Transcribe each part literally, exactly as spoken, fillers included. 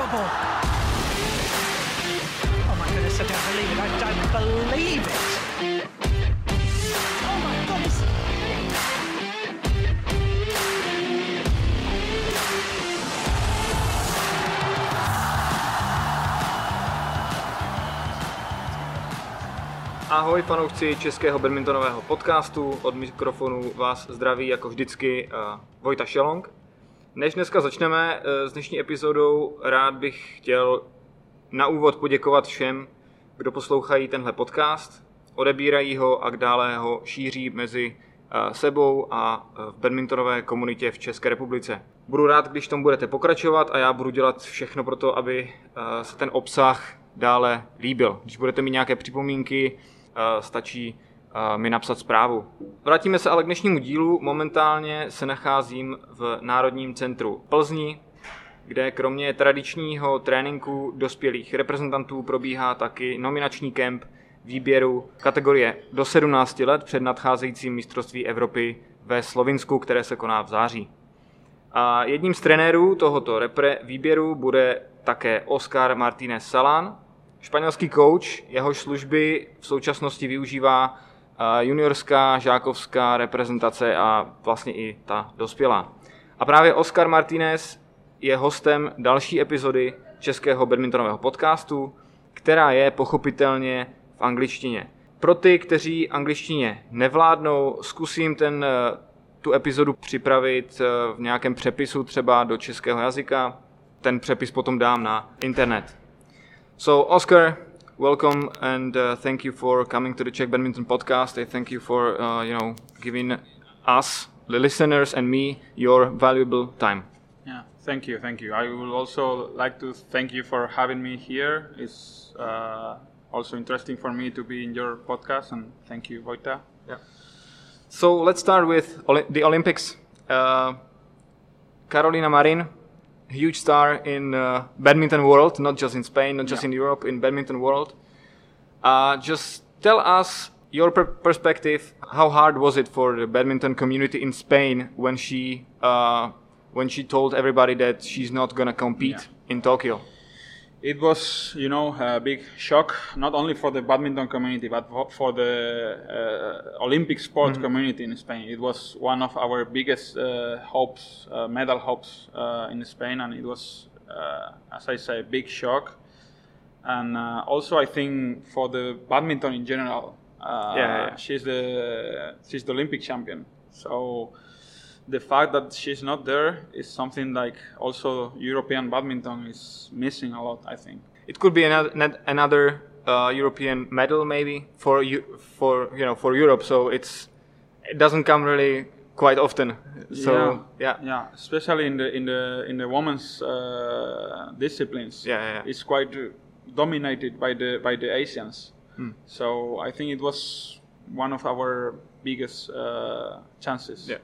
double. Oh my goodness, I don't believe it. I don't believe it. Oh my goodness. Ahoj fanoušci českého badmintonového podcastu, od mikrofonu vás zdraví jako vždycky uh, Vojta Šelong. Než dneska začneme uh, s dnešní epizodou, rád bych chtěl na úvod poděkovat všem, kdo poslouchají tenhle podcast, odebírají ho a dále ho šíří mezi uh, sebou a uh, v badmintonové komunitě v České republice. Budu rád, když tomu budete pokračovat a já budu dělat všechno pro to, aby uh, se ten obsah dále líbil. Když budete mít nějaké připomínky, Uh, stačí uh, mi napsat zprávu. Vrátíme se ale k dnešnímu dílu. Momentálně se nacházím v Národním centru Plzni, kde kromě tradičního tréninku dospělých reprezentantů probíhá taky nominační kemp výběru kategorie do sedmnácti let před nadcházejícím mistrovství Evropy ve Slovinsku, které se koná v září. A jedním z trenérů tohoto repre výběru bude také Oscar Martínez Salán, španělský coach, jehož služby v současnosti využívá juniorská, žákovská reprezentace a vlastně i ta dospělá. A právě Oscar Martínez je hostem další epizody českého badmintonového podcastu, která je pochopitelně v angličtině. Pro ty, kteří angličtině nevládnou, zkusím ten, tu epizodu připravit v nějakém přepisu třeba do českého jazyka. Ten přepis potom dám na internet. So, Oscar, welcome and uh, thank you for coming to the Czech Badminton Podcast. I thank you for, uh, you know, giving us, the listeners and me, your valuable time. Yeah, thank you, thank you. I would also like to thank you for having me here. It's uh, also interesting for me to be in your podcast, and thank you, Vojta. Yeah. So, let's start with Oli- the Olympics. Uh, Carolina Marin, huge star in uh, badminton world, not just in Spain, not just yeah. in Europe, in badminton world. Uh, just tell us your per- perspective. How hard was it for the badminton community in Spain when she uh, when she told everybody that she's not gonna compete yeah. in Tokyo? It was, you know, a big shock, not only for the badminton community, but for the uh, Olympic sport mm-hmm. community in Spain. It was one of our biggest uh, hopes, uh, medal hopes uh, in Spain, and it was, uh, as I say, a big shock. And uh, also, I think for the badminton in general, uh, yeah, yeah. she's the she's the Olympic champion. So the fact that she's not there is something like also European badminton is missing a lot, I think. It could be another another uh, European medal maybe for you for you know for Europe. So it's it doesn't come really quite often. So yeah, yeah, yeah. Especially in the in the in the women's uh, disciplines, yeah, yeah, yeah. it's quite uh, dominated by the by the Asians. Hmm. So I think it was one of our biggest uh, chances. Yeah.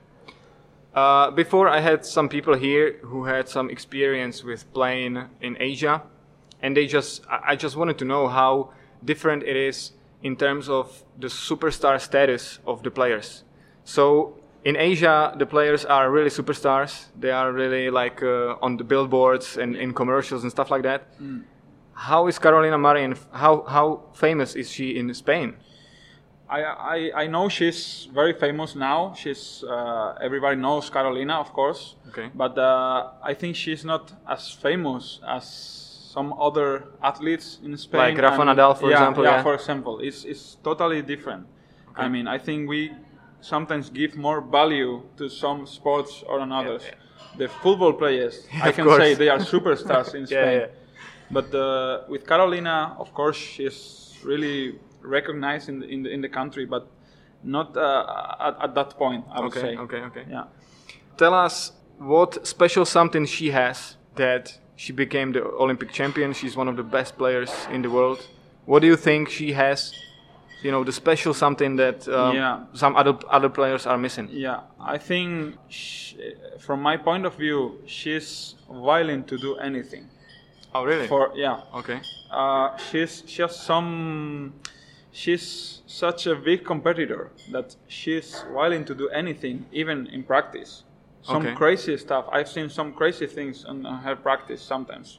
Uh, before I had some people here who had some experience with playing in Asia, and they just I just wanted to know how different it is in terms of the superstar status of the players. So in Asia, the players are really superstars. They are really like uh, on the billboards and in commercials and stuff like that. Mm. How is Carolina Marin? How how famous is she in Spain? I, I I know she's very famous now. She's uh, everybody knows Carolina, of course. Okay. But uh, I think she's not as famous as some other athletes in Spain. Like Rafa and, Nadal, for yeah, example. Yeah, yeah, for example, it's it's totally different. Okay. I mean, I think we sometimes give more value to some sports or another. Yeah, yeah. The football players, yeah, I can course. say they are superstars in Spain. Yeah, yeah. But uh, with Carolina, of course, she's really recognized in the, in the in the country, but not uh, at, at that point, I would okay, say. Okay, okay, Yeah. Tell us what special something she has that she became the Olympic champion. She's one of the best players in the world. What do you think she has? You know, the special something that um, yeah. some other other players are missing. Yeah, I think she, from my point of view, she's willing to do anything. Oh, really? For yeah. Okay. Uh, she's she has some. She's such a big competitor that she's willing to do anything, even in practice. Some Okay. crazy stuff. I've seen some crazy things in her practice sometimes,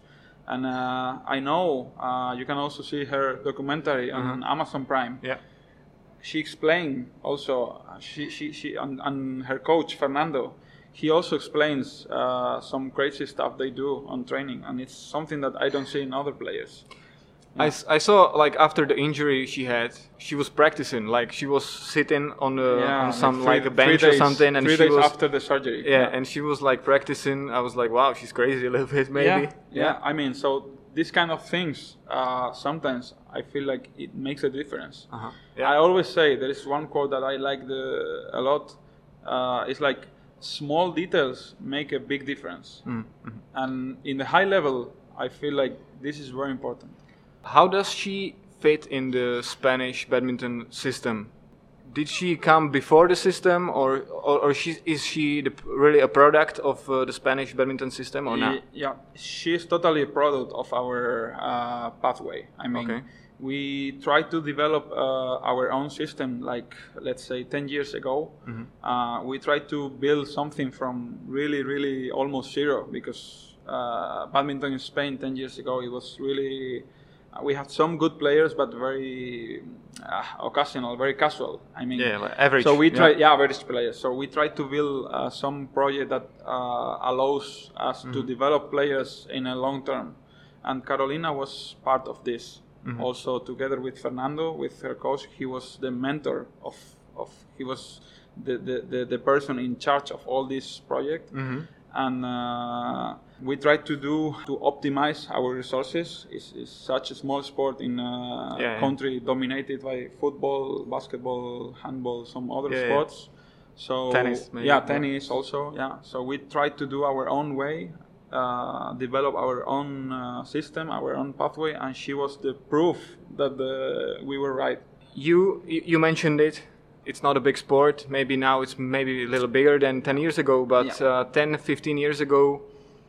And uh, I know uh, you can also see her documentary on Uh-huh. Amazon Prime. Yeah. She explained also, uh, she, she, she and, and her coach, Fernando, he also explains uh, some crazy stuff they do on training. And it's something that I don't see in other players. I, s- I saw like after the injury she had, she was practicing. Like she was sitting on the on some three- like a bench three or days- something, and three she days was after the surgery. yeah, and she was like practicing. I was like, wow, she's crazy a little bit, maybe. Yeah, yeah. I mean, so these kind of things, uh, sometimes I feel like it makes a difference. Uh-huh. Yeah. I always say there is one quote that I like the, a lot. Uh, it's like small details make a big difference, Mm-hmm. and in the high level, I feel like this is very important. How does she fit in the Spanish badminton system? Did she come before the system, or or, or she, is she the, really a product of uh, the Spanish badminton system, or not? Ye- Yeah, she is totally a product of our uh, pathway. I mean, Okay. we tried to develop uh, our own system, like let's say ten years ago. Mm-hmm. Uh, we tried to build something from really, really almost zero, because uh, badminton in Spain ten years ago, it was really. Uh, we had some good players, but very uh, occasional, very casual. I mean, Yeah, like average, So we yeah. tried, yeah, average players. So we tried to build uh, some project that uh, allows us to develop players in a long term, and Carolina was part of this. Also, together with Fernando, with her coach, he was the mentor of of he was the the, the, the person in charge of all this project. And uh, we tried to do to optimize our resources. It's, it's such a small sport in a Yeah, yeah. country dominated by football, basketball, handball, some other Yeah, yeah. sports. So Tennis, maybe. yeah, tennis also. Yeah. So we tried to do our own way, uh, develop our own uh, system, our own pathway, and she was the proof that the, we were right. You you you mentioned it. It's not a big sport. Maybe now it's maybe a little bigger than ten years ago, but Yeah. uh, ten, fifteen years ago,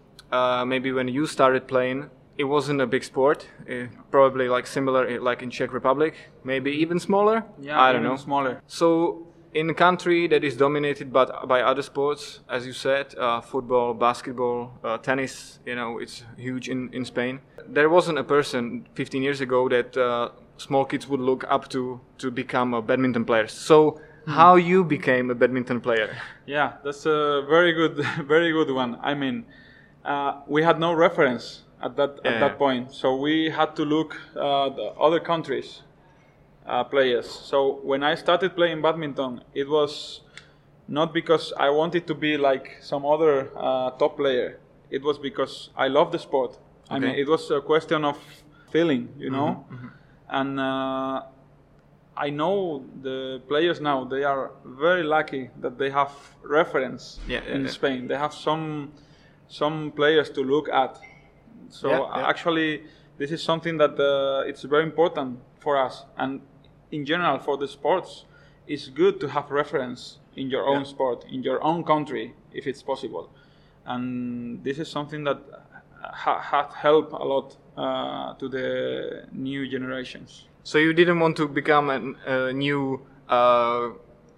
uh, maybe when you started playing, it wasn't a big sport. Uh, probably like similar, uh, like in Czech Republic, maybe even smaller. Yeah, I don't even know. smaller. So in a country that is dominated by, by other sports, as you said, uh, football, basketball, uh, tennis, you know, it's huge in, in Spain. There wasn't a person fifteen years ago that uh, small kids would look up to to become a badminton players. So how you became a badminton player? Yeah, that's a very good, very good one. I mean, uh, we had no reference at that Yeah. at that point, so we had to look uh, the other countries' uh, players. So when I started playing badminton, it was not because I wanted to be like some other uh, top player. It was because I love the sport. I Okay. mean, it was a question of feeling, you know, and. Uh, I know the players now, they are very lucky that they have reference Yeah, yeah, in yeah. Spain. They have some some players to look at. So Yeah, yeah. actually, this is something that uh, it's very important for us. And in general, for the sports, it's good to have reference in your own Yeah. sport, in your own country, if it's possible. And this is something that ha- has helped a lot uh, to the new generations. So you didn't want to become a, a new uh, uh,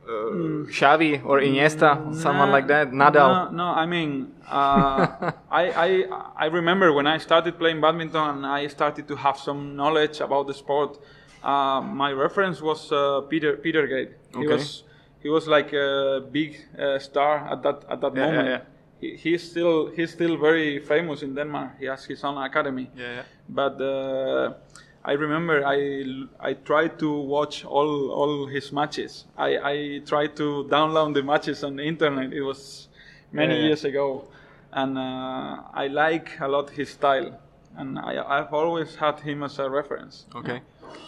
Xavi or Iniesta, someone Nah, like that, Nadal. No, no I mean, uh, I, I I remember when I started playing badminton and I started to have some knowledge about the sport. Uh, my reference was uh, Peter Peter Gate. He Okay. was he was like a big uh, star at that at that Yeah, yeah, moment. yeah. He, he's still he's still very famous in Denmark. He has his own academy. Yeah, yeah. But uh, I remember I, I tried to watch all all his matches. I, I tried to download the matches on the internet. It was many Yeah, yeah. years ago, and uh, I like a lot his style, and I, I've always had him as a reference. Okay.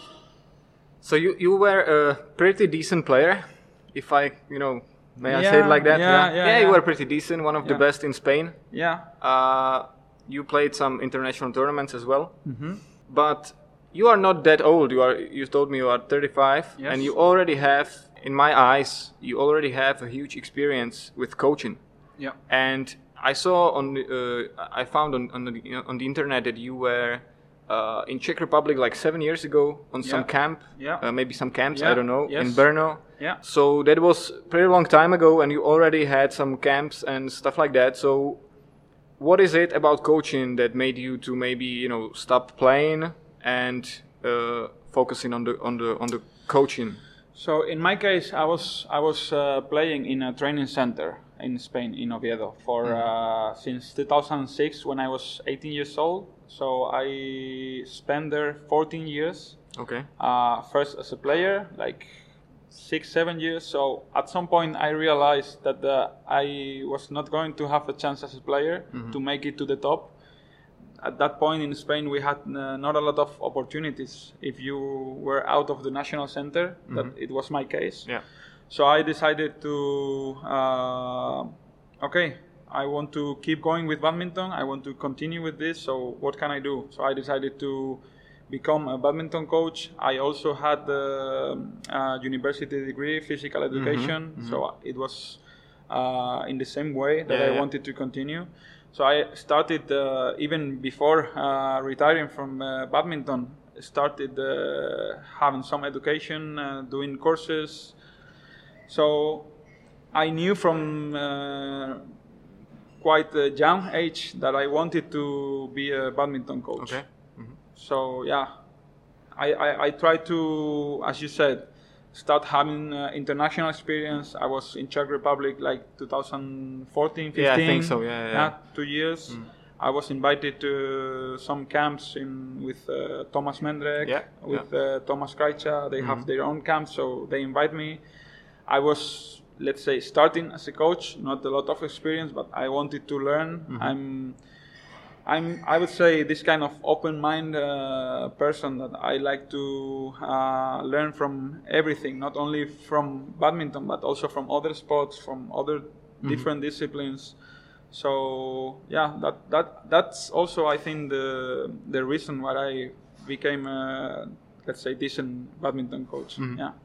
So you, you were a pretty decent player, if I, you know, may I say it Yeah, like that? yeah, yeah, you yeah. were pretty decent, one of the Yeah. best in Spain. Yeah. Uh, you played some international tournaments as well. Mm-hmm. But you are not that old. You are. You told me you are thirty-five, Yes. and you already have, in my eyes, you already have a huge experience with coaching. Yeah. And I saw on, the, uh, I found on on the, on the internet that you were uh, in Czech Republic like seven years ago on some Yeah. camp, Yeah. uh, maybe some camps, I Yeah. don't know, in Yes. Brno. Yeah. So that was a pretty long time ago, and you already had some camps and stuff like that. So what is it about coaching that made you to maybe, you know, stop playing and uh, focusing on the on the on the coaching? So in my case, I was I was uh, playing in a training center in Spain, in Oviedo, for mm. uh, since two thousand six when I was eighteen years old. So I spent there fourteen years. Okay. Uh, first as a player, like six, seven years. So at some point I realized that uh, I was not going to have a chance as a player mm-hmm. to make it to the top. At that point in Spain, we had uh, not a lot of opportunities. If you were out of the national center, mm-hmm. that it was my case. Yeah. So I decided to, uh, okay, I want to keep going with badminton. I want to continue with this. So what can I do? So I decided to become a badminton coach. I also had the uh, university degree, physical education. Mm-hmm, mm-hmm. So it was uh, in the same way that yeah, I yeah. wanted to continue. So I started uh, even before uh, retiring from uh, badminton. Started uh, having some education, uh, doing courses. So I knew from uh, quite a young age that I wanted to be a badminton coach. Okay. So yeah, I, I, I tried to, as you said, start having uh, international experience. I was in Czech Republic like two thousand fourteen, fifteen. Yeah, I think so. Yeah, yeah. yeah two years. Mm. I was invited to some camps in with uh, Thomas Mendrek, yeah, with yeah. Uh, Thomas Krajča. They mm-hmm. have their own camps, so they invite me. I was, let's say, starting as a coach, not a lot of experience, but I wanted to learn. Mm-hmm. I'm. I'm, I would say, this kind of open-minded uh, person that I like to uh, learn from everything, not only from badminton, but also from other sports, from other mm-hmm. different disciplines. So yeah, that that that's also, I think, the the reason why I became a, let's say, decent badminton coach. Mm-hmm. Yeah.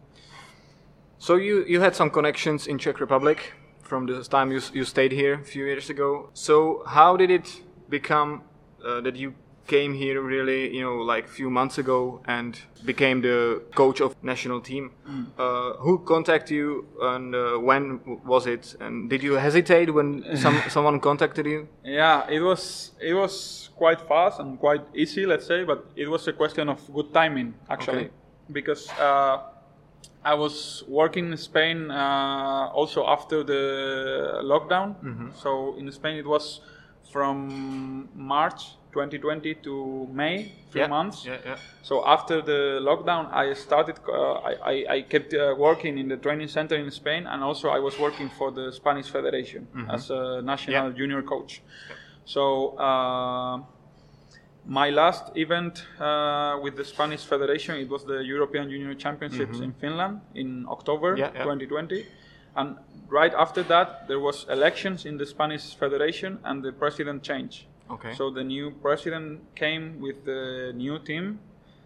So you you had some connections in Czech Republic from the time you you stayed here a few years ago. So how did it become uh, that you came here really, you know, like a few months ago and became the coach of national team? Mm. Uh, who contacted you and uh, when was it? And did you hesitate when some someone contacted you? Yeah, it was it was quite fast and quite easy, let's say, but it was a question of good timing actually, okay. because uh, I was working in Spain uh, also after the lockdown. Mm-hmm. So in Spain it was from March twenty twenty to May, three yeah. months. Yeah, yeah. So after the lockdown, I started. Uh, I, I I kept uh, working in the training center in Spain, and also I was working for the Spanish Federation mm-hmm. as a national yeah. junior coach. Yeah. So uh, my last event uh, with the Spanish Federation, it was the European Junior Championships mm-hmm. in Finland in October yeah, yeah. twenty twenty. And right after that, there was elections in the Spanish Federation, and the president changed. Okay. So the new president came with the new team,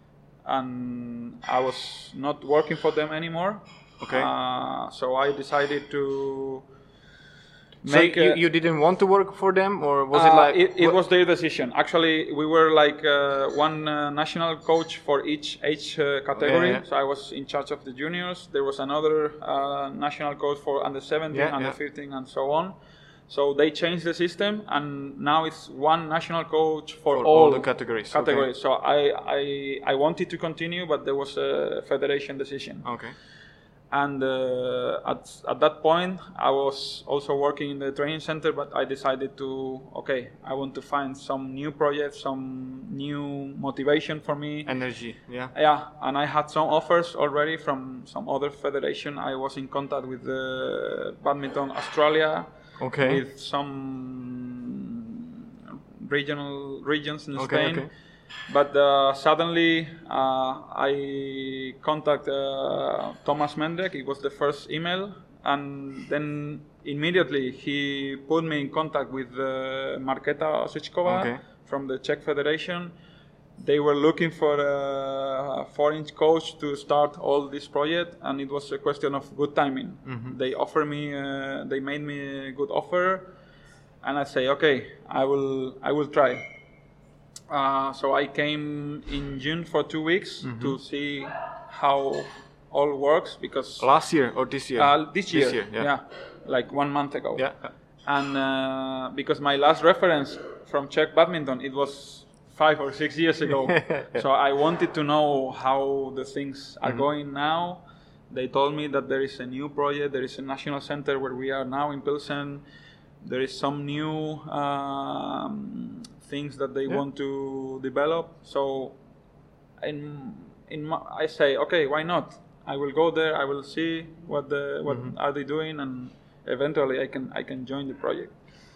and I was not working for them anymore. Okay. Uh, so I decided to so make. You, a, you didn't want to work for them, or was uh, it like? It, it was their decision. Actually, we were like uh, one uh, national coach for each age uh, category. Yeah, yeah. So I was in charge of the juniors. There was another uh, national coach for under seventeen, yeah, under yeah. fifteen, and so on. So they changed the system, and now it's one national coach for, for all, all the categories. Categories. Okay. So I, I I wanted to continue, but there was a federation decision. Okay. And uh, at at that point, I was also working in the training center, but I decided to, okay, I want to find some new projects, some new motivation for me. Energy, yeah. Yeah, and I had some offers already from some other federation. I was in contact with the Badminton Australia, okay. with some regional regions in okay, Spain. Okay. But uh, suddenly uh, I contacted uh, Thomas Mendrek. It was the first email, and then immediately he put me in contact with uh, Markéta Osičková okay. from the Czech Federation. They were looking for a foreign coach to start all this project, and it was a question of good timing. Mm-hmm. They offered me, uh, they made me a good offer, and I say, okay, I will, I will try. Uh, so I came in June for two weeks mm-hmm. to see how all works, because last year or this year? Uh, this year, this year yeah. yeah, like one month ago. Yeah. and uh, because my last reference from Czech badminton, it was five or six years ago. So I wanted to know how the things are mm-hmm. going now. They told me that there is a new project, there is a national center where we are now in Pilsen. There is some new um, things that they yeah. want to develop. So in, in my, I say, okay, why not? I will go there, I will see what the what mm-hmm. are they doing, and eventually I can I can join the project.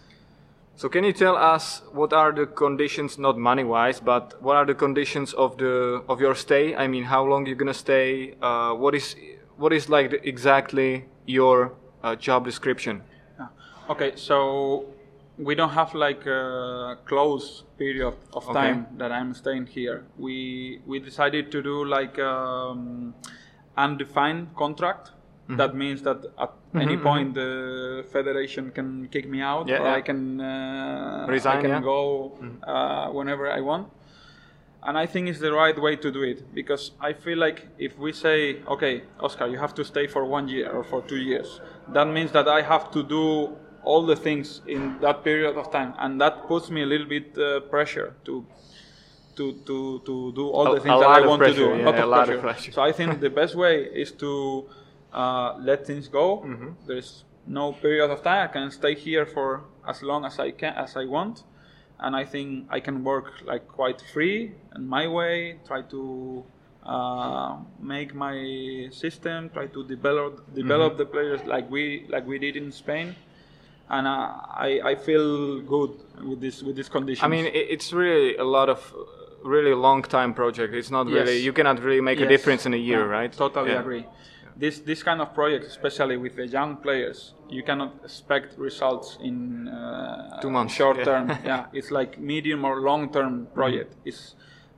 So can you tell us what are the conditions, not money-wise, but what are the conditions of the of your stay? I mean, how long you're gonna stay? Uh, what is what is like the, exactly your uh, job description? Yeah. Okay, so we don't have like a close period of time okay. that I'm staying here. We we decided to do like um, undefined contract. Mm-hmm. That means that at mm-hmm, any point mm-hmm. the federation can kick me out, yeah, or yeah. I can uh, resign. I can yeah. go mm-hmm. uh, whenever I want. And I think it's the right way to do it, because I feel like if we say, okay, Oscar, you have to stay for one year or for two years, that means that I have to do all the things in that period of time, and that puts me a little bit uh, pressure to. To, to, to do all a, the things that I want pressure, to do. Yeah, a lot, a of, lot pressure. of pressure. So I think the best way is to uh, let things go. Mm-hmm. There's no period of time. I can stay here for as long as I can, as I want, and I think I can work like quite free and my way. Try to uh, make my system. Try to develop develop mm-hmm. the players like we like we did in Spain. And uh, I I feel good with this with these conditions. I mean, it's really a lot of. Really long time project. It's not really yes. you cannot really make yes. a difference in a year, yeah, right? Totally yeah. agree. Yeah. This this kind of project, especially with the young players, you cannot expect results in uh, two months, short yeah. term. Yeah, it's like medium or long term project. Mm-hmm. It's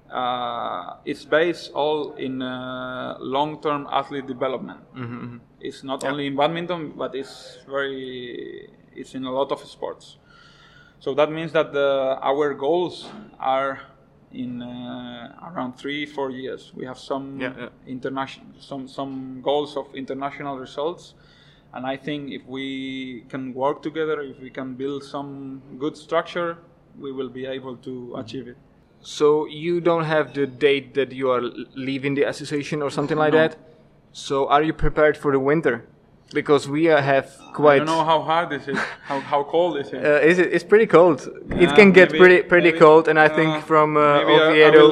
uh, it's based all in uh, long term athlete development. Mm-hmm. It's not yeah. only in badminton, but it's very it's in a lot of sports. So that means that the, our goals are. In uh, around three, four years, we have some yeah, yeah. international, some some goals of international results, and I think if we can work together, if we can build some good structure, we will be able to mm-hmm. achieve it. So you don't have the date that you are leaving the association or something like no. that. So are you prepared for the winter? Because we uh, have quite. I don't know how hard this is. How how cold is it? Uh, is it? It's pretty cold. Yeah, it can get maybe, pretty pretty maybe, cold, and I uh, think from uh, I, Oviedo,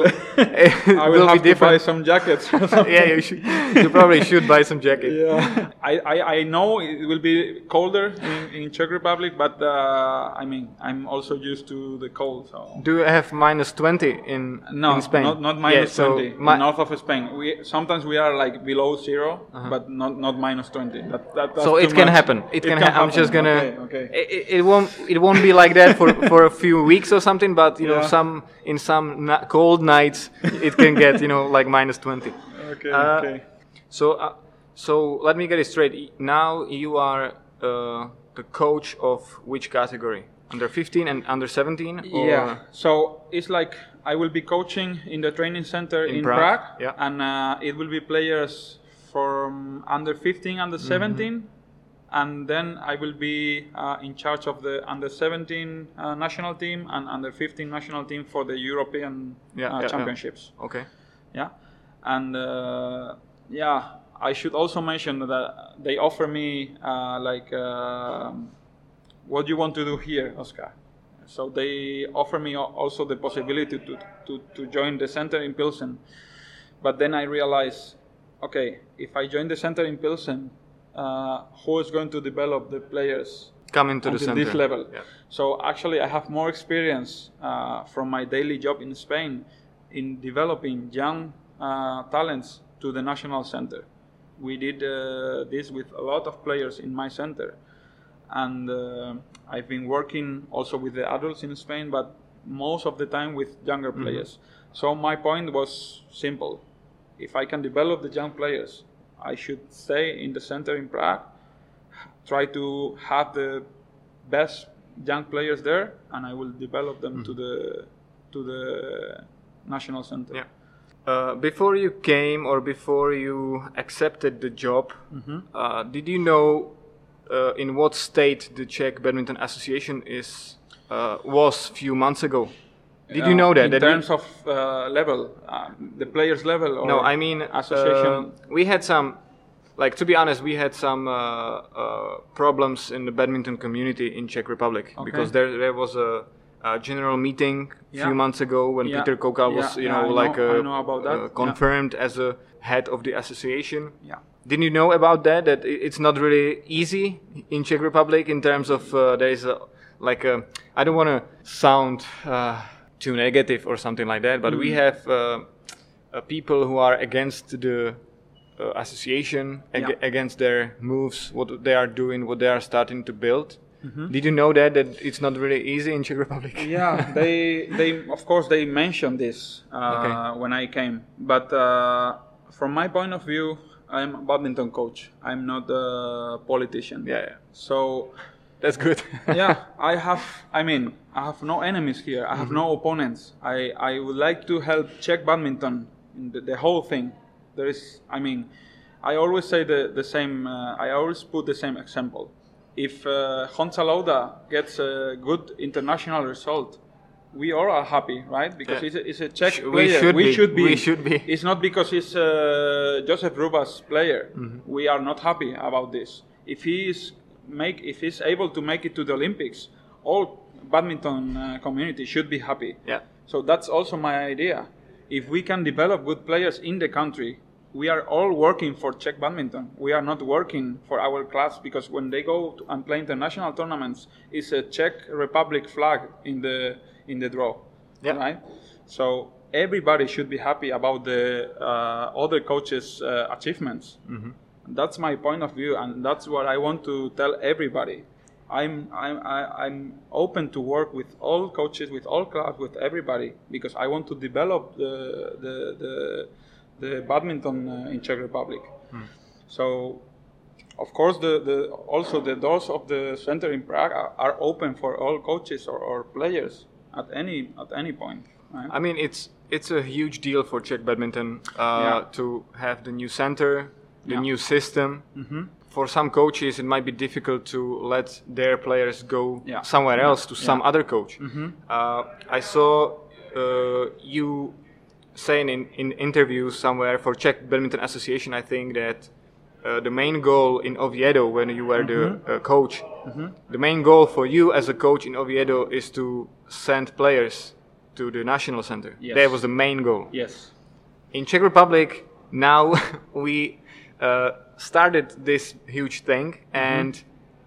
I will, I will will have be to buy some jackets. Yeah, you should. You probably should buy some jackets. Yeah. I, I, I know it will be colder in, in Czech Republic, but uh, I mean I'm also used to the cold. So. Do you have minus twenty in no, in Spain? not not minus yeah, so twenty. Mi- in north of Spain, we sometimes we are like below zero, uh-huh. but not not minus twenty. That, that, that's so it can much. happen. It, it can. Ha- I'm just gonna. Okay, okay. It, it won't. It won't be like that for, for a few weeks or something. But you yeah. know, some in some na- cold nights, it can get you know like minus twenty. Okay. Uh, okay. So uh, so let me get it straight. Now you are uh, the coach of which category? Under fifteen and under seventeen? Yeah. So it's like I will be coaching in the training center in, in Prague, Prague yeah. and uh, it will be players from under fifteen, under mm-hmm. seventeen. And then I will be uh, in charge of the under seventeen uh, national team and under fifteen national team for the European yeah, uh, yeah, championships. Yeah. Okay. Yeah, and uh, yeah, I should also mention that they offer me uh, like, uh, what do you want to do here, Oscar? So they offer me also the possibility to to, to join the center in Pilsen. But then I realized, okay, if I join the center in Pilsen, Uh, who is going to develop the players coming to the center this level? Yeah. So actually, I have more experience uh, from my daily job in Spain in developing young uh, talents to the national center. We did uh, this with a lot of players in my center, and uh, I've been working also with the adults in Spain, but most of the time with younger mm-hmm. players. So my point was simple: if I can develop the young players, I should stay in the center in Prague, try to have the best young players there, and I will develop them mm-hmm. to the to the national center. Yeah. Uh, before you came or before you accepted the job, mm-hmm. uh, did you know uh, in what state the Czech Badminton Association is uh, was few months ago. Did you know that? In that terms we, of uh, level, uh, the players' level, or no, I mean association. Uh, we had some, like to be honest, we had some uh, uh, problems in the badminton community in Czech Republic Okay. because there there was a, a general meeting a Yeah. few months ago when Yeah. Peter Kokal was, Yeah, you yeah, know, I like know- uh, I know about that. uh, Yeah. confirmed as a head of the association. Yeah. Didn't you know about that? That i- it's not really easy in Czech Republic in terms of uh, there is a like a, I don't want to sound uh, too negative or something like that, but we have uh, uh, people who are against the uh, association, ag- Yeah. against their moves, what they are doing, what they are starting to build. Mm-hmm. Did you know that that it's not really easy in Czech Republic? Yeah, they they of course they mentioned this uh, Okay. when I came, but uh, from my point of view, I'm a badminton coach. I'm not a politician. Yeah, yeah. So That's good. yeah, I have. I mean, I have no enemies here. I have no opponents. I I would like to help Czech badminton in the, the whole thing. There is. I mean, I always say the the same. Uh, I always put the same example. If uh, Honza Lauda gets a good international result, we all are happy, right? Because Yeah. he's, a, he's a Czech Sh- we player. should be. should be. We should be. It's not because he's uh, Joseph Ruba's player. Mm-hmm. We are not happy about this. If he is make, if he's able to make it to the Olympics, all badminton uh, community should be happy. Yeah. So that's also my idea. If we can develop good players in the country, we are all working for Czech badminton. We are not working for our clubs, because when they go to and play international tournaments, it's a Czech Republic flag in the in the draw, Yeah. right? So everybody should be happy about the uh, other coaches' uh, achievements. Mm-hmm. That's my point of view, and that's what I want to tell everybody. I'm I'm I, I'm open to work with all coaches, with all clubs, with everybody, because I want to develop the the the, the badminton uh, in Czech Republic. Mm. So, of course, the, the also the doors of the center in Prague are, are open for all coaches or, or players at any at any point. Right? I mean, it's it's a huge deal for Czech badminton uh, Yeah. to have the new center, the Yeah. new system. Mm-hmm. For some coaches, it might be difficult to let their players go Yeah. somewhere Yeah. else to some Yeah. other coach. Mm-hmm. Uh, I saw uh, you saying in, in interviews somewhere for Czech Badminton Association, I think that uh, the main goal in Oviedo, when you were Mm-hmm. the uh, coach, the main goal for you as a coach in Oviedo is to send players to the national center. Yes. That was the main goal. Yes. In Czech Republic, now we uh, started this huge thing, and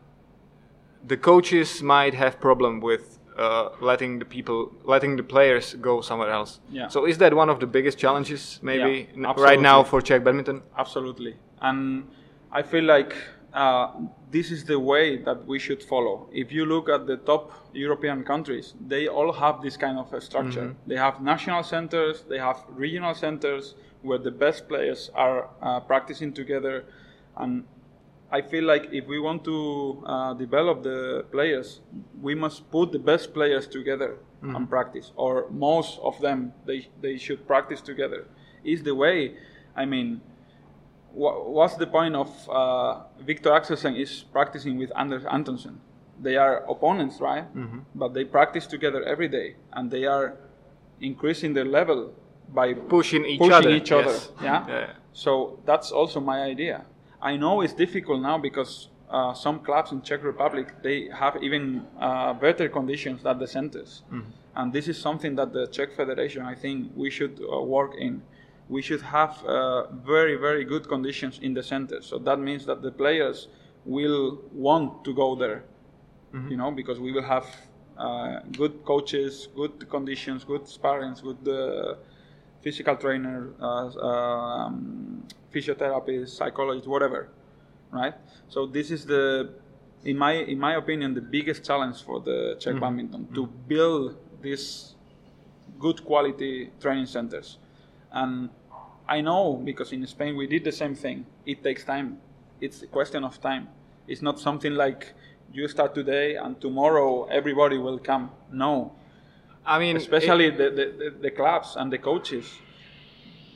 the coaches might have problem with uh, letting the people, letting the players go somewhere else. Yeah. So is that one of the biggest challenges, maybe Yeah, n- absolutely. right now for Czech badminton? Absolutely. And I feel like uh, this is the way that we should follow. If you look at the top European countries, they all have this kind of a structure. Mm-hmm. They have national centers, they have regional centers where the best players are uh, practicing together. And I feel like if we want to uh, develop the players, we must put the best players together Mm-hmm. and practice, or most of them, they, they should practice together. Is the way. I mean, wha- what's the point of uh, Victor Axelsen is practicing with Anders Antonsen? They are opponents, right? Mm-hmm. But they practice together every day, and they are increasing their level by Pushing each pushing other. each other. Yes. Yeah? Yeah. So that's also my idea. I know it's difficult now because uh, some clubs in Czech Republic, they have even uh, better conditions than the centers. Mm-hmm. And this is something that the Czech Federation, I think, we should uh, work in. We should have uh, very, very good conditions in the centers. So that means that the players will want to go there, you know, because we will have uh, good coaches, good conditions, good sparrings, good uh, physical trainer, uh, um, physiotherapist, psychologist, whatever, right? So this is the, in my in my opinion, the biggest challenge for the Czech badminton, to build these good quality training centers. And I know, because in Spain we did the same thing. It takes time. It's a question of time. It's not something like you start today and tomorrow everybody will come. No. I mean, Especially it- the, the, the, the clubs and the coaches.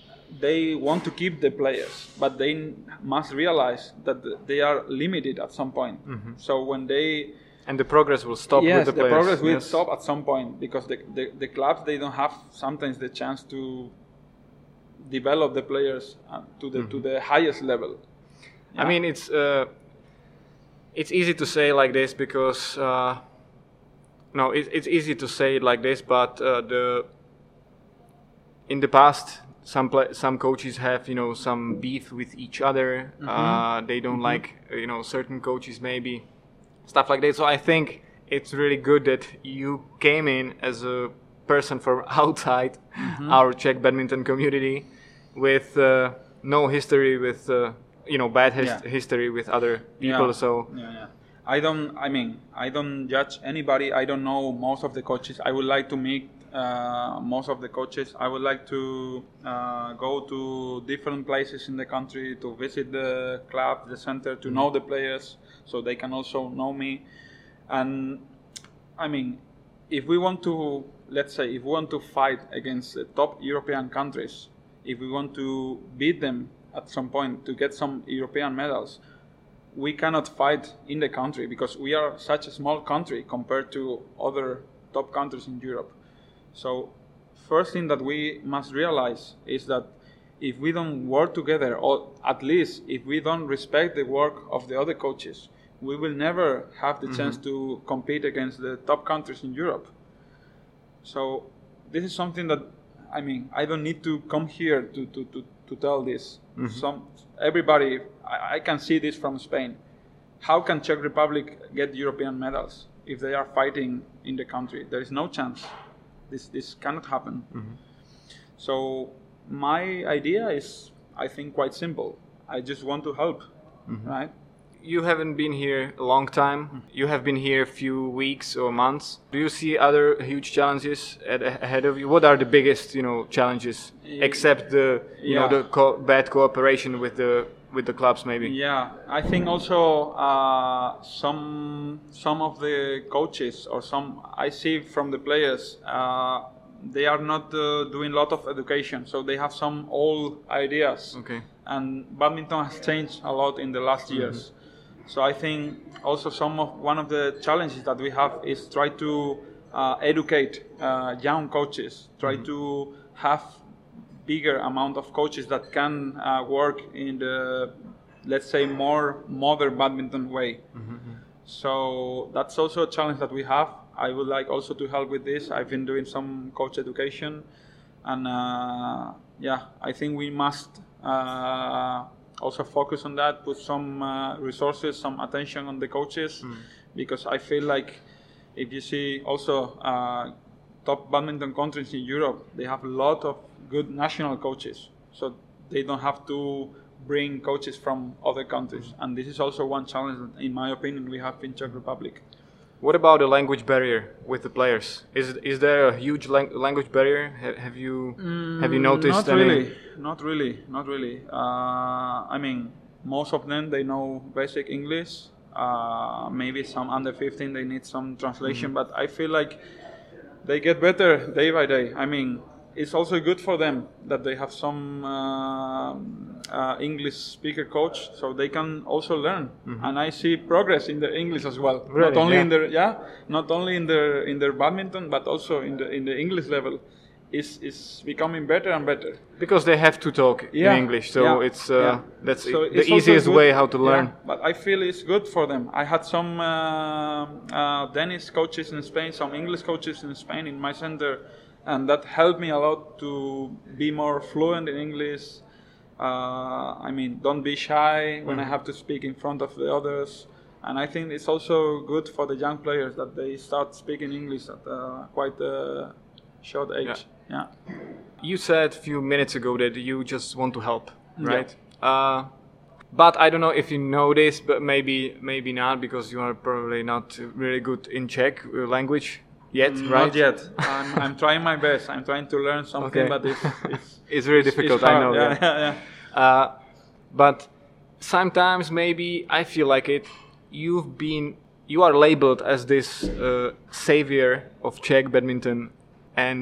they want to keep the players, but they n- must realize that th- they are limited at some point. Mm-hmm. So when they And the progress will stop yes, with the the players. progress will yes. stop at some point because the, the, the clubs, they don't have sometimes the chance to develop the players uh, to the mm-hmm. to the highest level. Yeah? I mean, it's uh, it's easy to say like this because uh, no, it, it's easy to say it like this, but uh, the in the past some play, some coaches have you know some beef with each other. Mm-hmm. Uh, they don't mm-hmm. like you know certain coaches maybe. Stuff like that. So I think it's really good that you came in as a person from outside mm-hmm. our Czech badminton community with uh, no history with uh, you know bad his- yeah. history with other people. Yeah. So yeah, yeah. I don't. I mean, I don't judge anybody. I don't know most of the coaches. I would like to meet uh, most of the coaches. I would like to uh, go to different places in the country to visit the club, the center, to mm-hmm. know the players, so they can also know me. And I mean, if we want to, let's say, if we want to fight against the top European countries, if we want to beat them at some point to get some European medals, we cannot fight in the country because we are such a small country compared to other top countries in Europe. So first thing that we must realize is that if we don't work together, or at least if we don't respect the work of the other coaches, we will never have the mm-hmm. chance to compete against the top countries in Europe. So this is something that, I mean, I don't need to come here to, to, to, to tell this. Mm-hmm. Some everybody, I, I can see this from Spain. How can Czech Republic get European medals if they are fighting in the country? There is no chance. This this cannot happen. Mm-hmm. So my idea is, I think, quite simple. I just want to help, mm-hmm. right? You haven't been here a long time. You have been here a few weeks or months. Do you see other huge challenges at, ahead of you? What are the biggest, you know, challenges except the, you yeah. know, the co- bad cooperation with the with the clubs, maybe? Yeah, I think also uh, some some of the coaches or some I see from the players, uh, they are not uh, doing a lot of education, so they have some old ideas. Okay. And badminton has changed a lot in the last years. Mm-hmm. So I think also some of one of the challenges that we have is try to uh, educate uh, young coaches, try mm-hmm. to have bigger amount of coaches that can uh, work in the, let's say, more modern badminton way. Mm-hmm. So that's also a challenge that we have. I would like also to help with this. I've been doing some coach education, and uh, yeah, I think we must uh, also focus on that, put some uh, resources, some attention on the coaches, mm. because I feel like if you see also uh, top badminton countries in Europe, they have a lot of good national coaches, so they don't have to bring coaches from other countries. And this is also one challenge that, in my opinion, we have in Czech Republic. What about the language barrier with the players? Is is there a huge lang- language barrier? Ha- have you mm, have you noticed? Not any? really, not really, not really. Uh, I mean, most of them, they know basic English. Uh, maybe some under fifteen, they need some translation, mm-hmm. but I feel like they get better day by day. I mean, it's also good for them that they have some uh, uh, English speaker coach, so they can also learn. Mm-hmm. And I see progress in their English as well. Really? Not only yeah. in their yeah, not only in their in their badminton, but also in the in the English level. Is is becoming better and better because they have to talk yeah. in English, so yeah. it's uh, yeah. that's so the it's easiest way how to learn. Yeah. But I feel it's good for them. I had some uh, uh, Danish coaches in Spain, some English coaches in Spain in my center, and that helped me a lot to be more fluent in English. Uh, I mean, don't be shy when mm. I have to speak in front of the others. And I think it's also good for the young players that they start speaking English at uh, quite a short age. Yeah. Yeah. You said a few minutes ago that you just want to help, right? Yeah. Uh, but I don't know if you know this, but maybe maybe not, because you are probably not really good in Czech language yet, mm, right? Not yet. I'm, I'm trying my best. I'm trying to learn something, okay. but it's it's, it's really it's, difficult. It's I know. Yeah, that. yeah, yeah. Uh, but sometimes maybe I feel like it. You've been you are labeled as this uh, savior of Czech badminton, and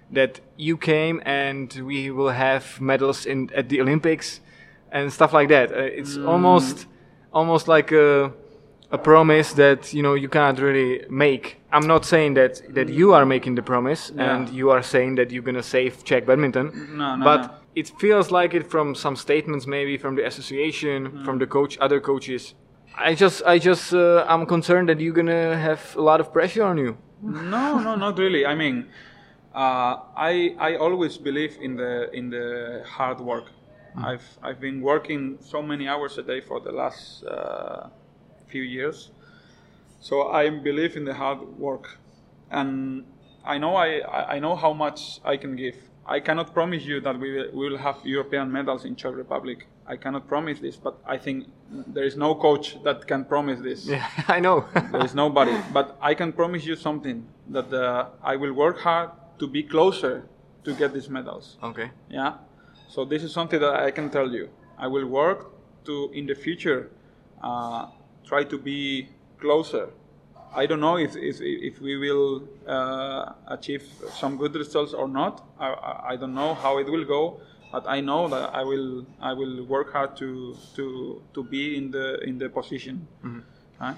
that you came and we will have medals in at the Olympics and stuff like that. Uh, it's mm. almost almost like a a promise that you know you can't really make. I'm not saying that that you are making the promise yeah. and you are saying that you're gonna save Czech badminton. No, no, but no. it feels like it from some statements, maybe from the association, mm. from the coach, other coaches. I just, I just, uh, I'm concerned that you're gonna have a lot of pressure on you. No, no, not really. I mean, uh, I, I always believe in the in the hard work. Mm. I've, I've been working so many hours a day for the last uh, few years, so I believe in the hard work, and I know I, I know how much I can give. I cannot promise you that we will, we will have European medals in Czech Republic. I cannot promise this, but I think there is no coach that can promise this. Yeah, I know. There is nobody. But I can promise you something, that uh, I will work hard to be closer to get these medals. Okay. Yeah. So this is something that I can tell you. I will work to, in the future, uh, try to be closer. I don't know if if, if we will uh, achieve some good results or not. I, I don't know how it will go. But I know that I will I will work hard to to to be in the in the position. Mm-hmm. Huh?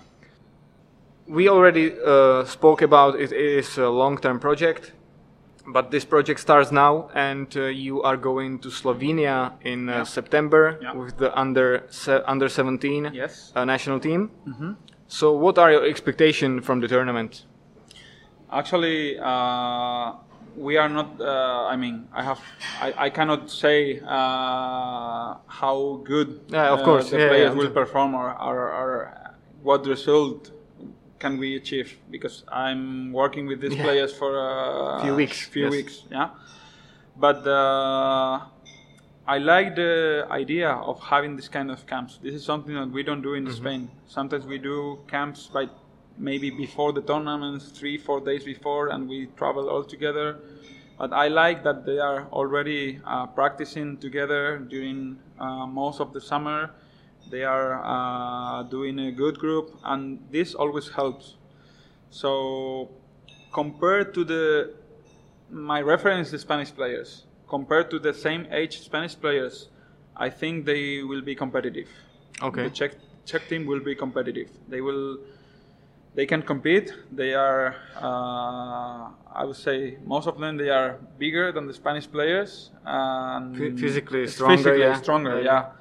We already uh, spoke about it. It is a long-term project, but this project starts now, and uh, you are going to Slovenia in uh, yeah. September yeah. with the under se- under seventeen yes. uh, national team. Mm-hmm. So, what are your expectations from the tournament? Actually. Uh, We are not. Uh, I mean, I have. I, I cannot say uh, how good yeah, of course. uh, the yeah, players yeah. will perform, or, or, or what result can we achieve. Because I'm working with these yeah. players for a few weeks. Few yes. weeks. Yeah. But uh, I like the idea of having this kind of camps. This is something that we don't do in mm-hmm. Spain. Sometimes we do camps by. Maybe before the tournaments, three, four days before, and we travel all together. But I like that they are already uh, practicing together during uh, most of the summer. They are uh, doing a good group, and this always helps. So, compared to the my reference, the Spanish players, compared to the same age Spanish players, I think they will be competitive. Okay. The Czech Czech team will be competitive. They will. They can compete. They are, uh, I would say, most of them, they are bigger than the Spanish players. And F- physically stronger, physically yeah. stronger, yeah. yeah.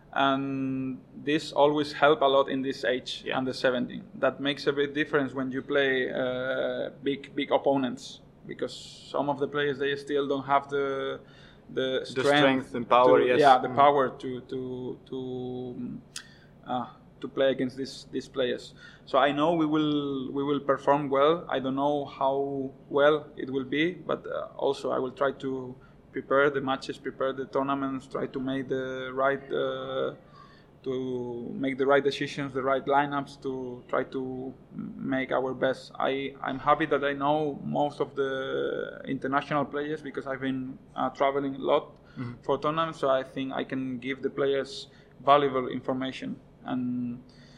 And this always help a lot in this age, yeah. under seventeen. That makes a big difference when you play uh, big, big opponents, because some of the players, they still don't have the the strength, the strength and power. To, yes. Yeah, the mm. power to to to. Uh, to play against these these players. So I know we will we will perform well. I don't know how well it will be, but uh, also I will try to prepare the matches, prepare the tournaments, try to make the right uh, to make the right decisions, the right lineups, to try to make our best. I I'm happy that I know most of the international players because I've been uh, traveling a lot mm-hmm. for tournaments. So I think I can give the players valuable information. And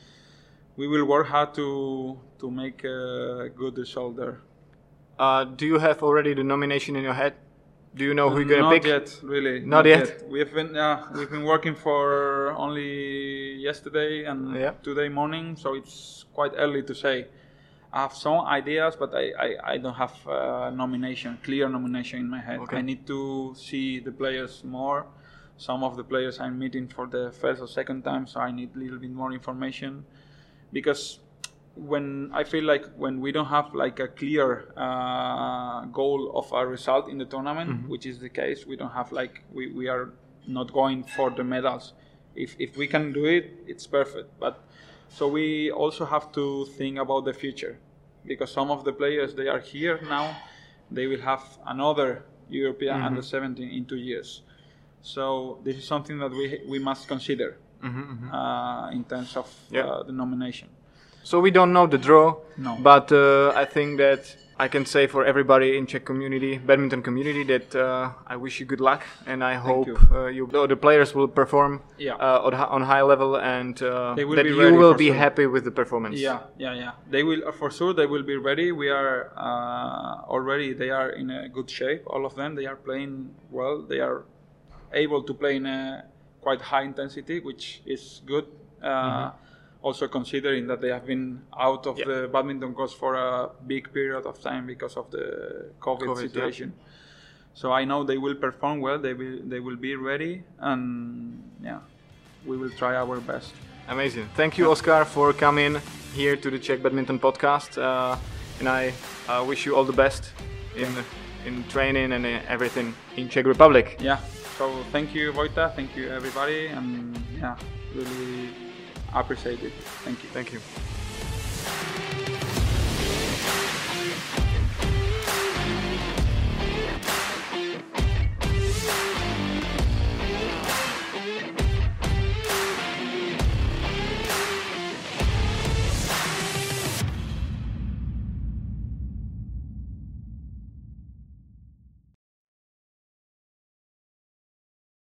we will work hard to to make a good result there. Uh, do you have already the nomination in your head? Do you know who you're gonna not pick? Not yet, really. Not, not yet? yet. We've been uh, we've been working for only yesterday and yeah. today morning, so it's quite early to say. I have some ideas, but I, I, I don't have a nomination, clear nomination in my head. Okay. I need to see the players more. Some of the players I'm meeting for the first or second time, so I need a little bit more information. Because when I feel like when we don't have like a clear uh, goal of a result in the tournament, mm-hmm. which is the case, we don't have like, we, we are not going for the medals. If if we can do it, it's perfect. But so we also have to think about the future. Because some of the players, they are here now, they will have another European mm-hmm. under seventeen in two years. So this is something that we we must consider mm-hmm, mm-hmm. Uh, in terms of yeah. uh, the nomination. So we don't know the draw, no. but uh, I think that I can say for everybody in Czech community, badminton community, that uh, I wish you good luck, and I hope you. Uh, you, the players will perform Yeah. uh, on, on high level, and uh, They will that be you ready will for be sure. happy with the performance. Yeah, yeah, yeah. They will uh, for sure. They will be ready. We are uh, already. They are in a good shape. All of them. They are playing well. They are able to play in a quite high intensity, which is good. Uh, mm-hmm. Also considering that they have been out of yeah. the badminton course for a big period of time because of the COVID, COVID situation. Yeah. So I know they will perform well. They will. They will be ready, and yeah, we will try our best. Amazing. Thank you, Oskar, for coming here to the Czech Badminton Podcast. Uh, and I uh, wish you all the best in in training and everything in Czech Republic. Yeah. So thank you, Vojta. Thank you, everybody. And yeah, really appreciate it. Thank you. Thank you.